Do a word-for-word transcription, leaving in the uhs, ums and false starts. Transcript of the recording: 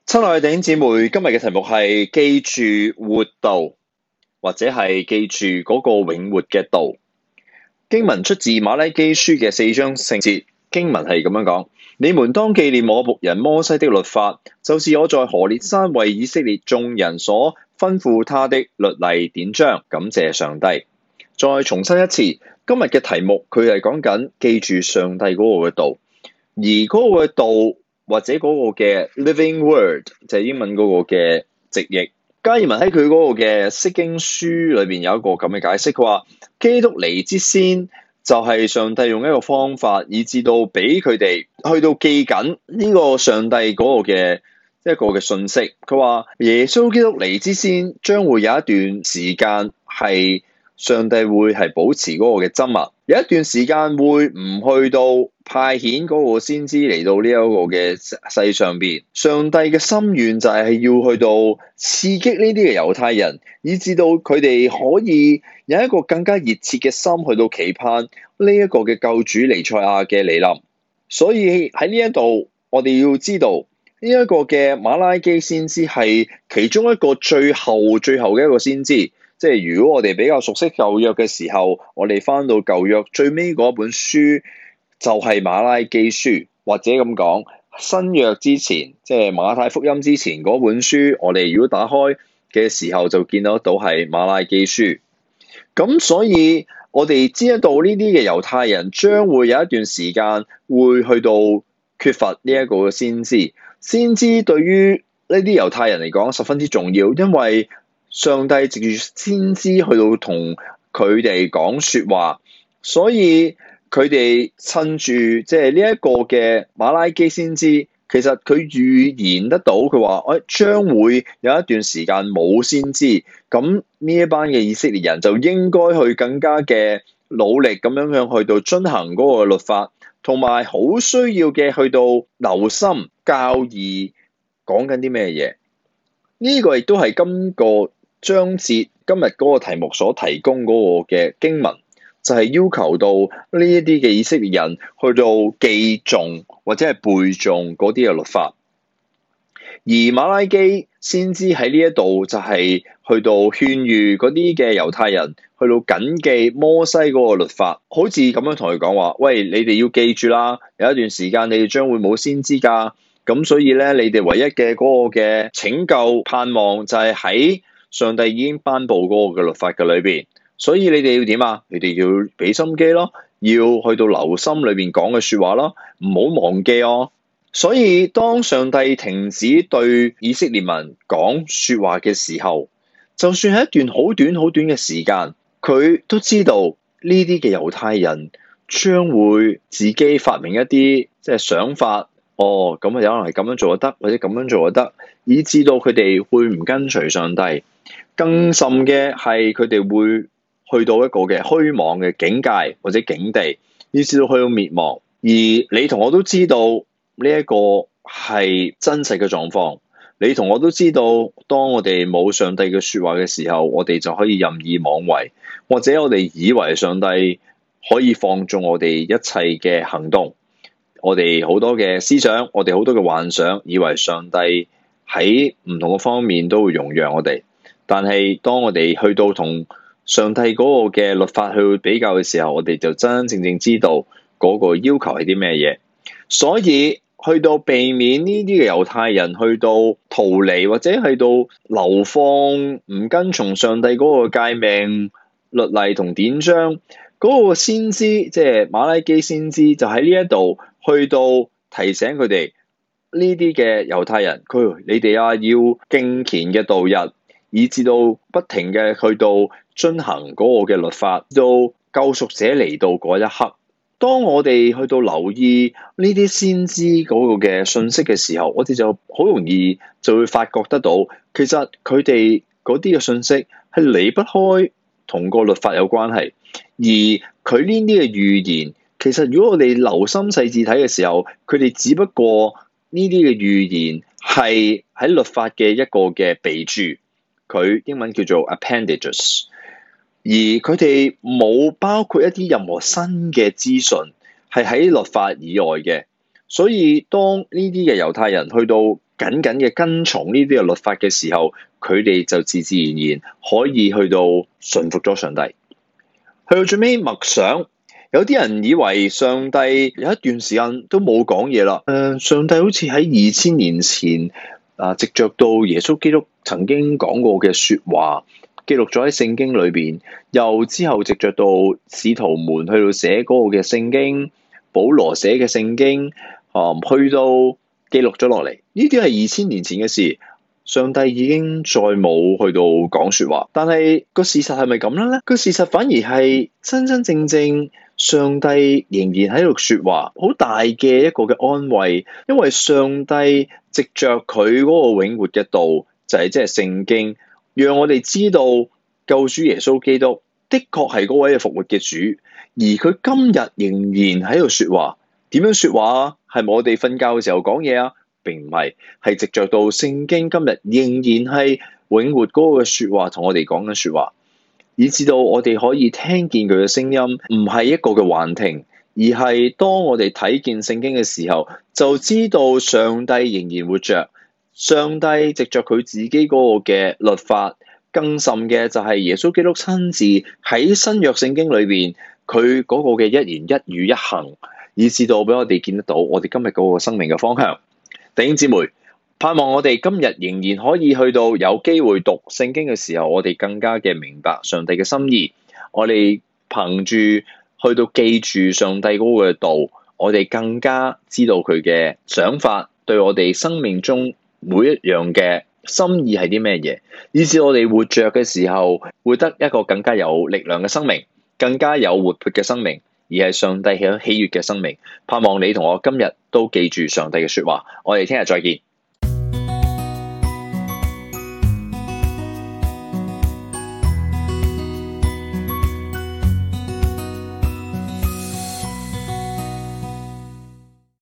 親愛嘅弟兄姊妹，今日嘅題目係記住活道，或者係記住嗰個永活嘅道。經文出自馬拉基書嘅四章聖節，經文係咁樣講：你們當紀念我僕人摩西的律法，就是我在何烈山為以色列眾人所吩咐他的律例典章。感謝上帝。再重申一次，今日嘅題目佢係講緊記住上帝嗰個嘅道，而嗰個嘅道，或者嗰個嘅 living word 就係英文嗰個嘅直譯。加爾文喺佢嗰個嘅釋經書裏邊有一個咁嘅解釋，佢話基督嚟之先就係上帝用一個方法，以至到俾佢哋去到記緊呢個上帝嗰個嘅一個嘅信息。佢話耶穌基督嚟之先將會有一段時間係上帝會係保持嗰個嘅緘默，有一段時間會唔去到派遣嗰個先知嚟到呢一個嘅世上邊。上帝嘅心願就係要去到刺激呢啲嘅猶太人，以至到佢哋可以有一個更加熱切嘅心去到期盼呢一個嘅救主彌賽亞嘅嚟臨。所以喺呢一度，我哋要知道呢一個嘅馬拉基先知係其中一個最後最後嘅一個先知。即係如果我哋比較熟悉舊約嘅時候，我哋翻到舊約最尾嗰本書就係馬拉基書，或者咁講新約之前，即係馬太福音之前嗰本書，我哋如果打開嘅時候就見得到係馬拉基書。咁所以我哋知得到呢啲嘅猶太人將會有一段時間會去到缺乏呢一個先知。先知對於呢啲猶太人嚟講十分之重要，因為上帝藉住先知去到同佢哋講說話，所以佢哋趁住即係呢一個嘅馬拉基先知，其實佢預言得到，佢話誒將會有一段時間冇先知，咁呢一班嘅以色列人就應該去更加嘅努力咁樣樣去到遵行嗰個律法，同埋好需要嘅去到留心教義講緊啲咩嘢。呢個亦都係今個章節今日嗰個題目所提供嗰個嘅經文，就係要求到呢一啲嘅以色列人去到記誦或者係背誦嗰啲嘅律法。而馬拉基先知喺呢一度就係去到勸喻嗰啲嘅猶太人去到謹記摩西嗰個律法，好似咁樣同佢講話：喂，你哋要記住啦，有一段時間你哋將會冇先知㗎，咁所以咧，你哋唯一嘅嗰個嘅拯救盼望就係喺上帝已經頒布嗰個嘅律法嘅裏邊，所以你哋要點啊？你哋要俾心機咯，要去到留心裏邊講嘅說話咯，唔好忘記哦。所以當上帝停止對以色列民講說話嘅時候，就算係一段好短好短嘅時間，佢都知道呢啲嘅猶太人將會自己發明一啲即係想法。哦，咁啊，有可能係咁樣做就得，或者咁樣做就得，以致到佢哋會唔跟隨上帝。更甚嘅係佢哋會去到一個嘅虛妄嘅境界或者境地，以致到去到滅亡。而你同我都知道呢一個係真實嘅狀況。你同我都知道，當我哋冇上帝嘅說話嘅時候，我哋就可以任意妄為，或者我哋以為上帝可以放縱我哋一切嘅行動。我哋好多嘅思想，我哋好多嘅幻想，以為上帝喺唔同嘅方面都會容讓我哋。但係當我哋去到同上帝嗰個嘅律法去比較嘅時候，我哋就真真正正知道嗰個要求係啲咩嘢。所以去到避免呢啲嘅猶太人去到逃離或者去到流放，唔跟從上帝嗰個誡命律例同典章，嗰個先知即係馬拉基先知就喺呢一度去到提醒佢哋呢啲嘅猶太人，佢你哋啊要敬虔嘅度日，以至到不停嘅去到遵行嗰個嘅律法，到救贖者嚟到嗰一刻。當我哋去到留意呢啲先知嗰個嘅信息嘅時候，我哋就好容易就會發覺得到，其實佢哋嗰啲嘅信息係離不開同個律法有關係。而佢呢啲嘅預言，其實如果我哋留心細緻睇嘅時候，佢哋只不過呢啲嘅預言係喺律法嘅一個嘅備註，佢英文叫做 appendages。而佢哋冇包括一啲任何新嘅資訊係喺律法以外嘅，所以當呢啲嘅猶太人去到緊緊嘅跟從呢啲嘅律法嘅時候，佢哋就自自然然可以去到順服咗上帝。去到最尾默想，有啲人以為上帝有一段時間都冇講嘢啦。誒、呃，上帝好似喺二千年前啊，藉着到耶穌基督曾經講過嘅説話，記錄咗喺聖經裏邊，又之後藉着到使徒們去到寫嗰個嘅聖經，保羅寫嘅聖經，啊，去到記錄咗落嚟。呢啲係二千年前嘅事。上帝已經再冇去到講説話，但係個事實係咪咁樣咧？個事實反而係真真正正上帝仍然喺度説話，好大嘅一個嘅安慰，因為上帝藉着佢嗰個永活嘅道，就係即係聖經，讓我哋知道救主耶穌基督的確係嗰位嘅復活嘅主，而佢今日仍然喺度説話。點樣説話啊？係咪我哋瞓覺嘅時候講嘢啊？並唔係，係藉着到聖經今日仍然係永活嗰個説話，同我哋講緊説話，以至到我哋可以聽見佢嘅聲音，唔係一個嘅幻聽，而係當我哋睇見聖經嘅時候，就知道上帝仍然活着。上帝藉着佢自己嗰個嘅律法，更甚嘅就係耶穌基督親自喺新約聖經裏邊，佢嗰個嘅一言一語一行，以至到俾我哋見得到我哋今日嗰個生命嘅方向。弟兄姊妹，盼望我哋今日仍然可以去到有機會讀聖經嘅時候，我哋更加嘅明白上帝嘅心意。我哋憑住去到記住上帝嗰個道，我哋更加知道佢嘅想法，對我哋生命中每一樣嘅心意係啲咩嘢，以至我哋活着嘅時候，活得一個更加有力量嘅生命，更加有活潑嘅生命。而係上帝喜喜悅嘅生命，盼望你同我今日都記住上帝嘅說話。我哋聽日再見。